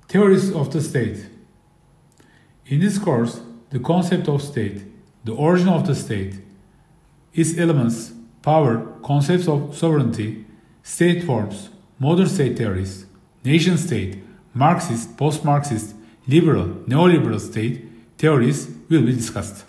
Theories of the state. In this course, the concept of state, the origin of the state, its elements, power, concepts of sovereignty, state forms, modern state theories, nation state, Marxist, post-Marxist, liberal, neoliberal state theories will be discussed.